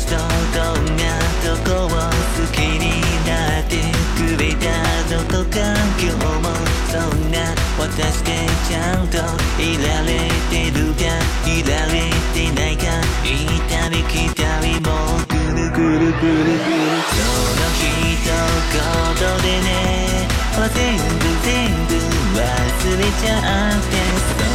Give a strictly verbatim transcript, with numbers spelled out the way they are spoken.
人どんなとこを好きになってくれたのとか今日もそんな私でちゃんといられてるかいられてないか行ったり来たりもうぐるぐるぐるぐるその一言でね全部全部忘れちゃって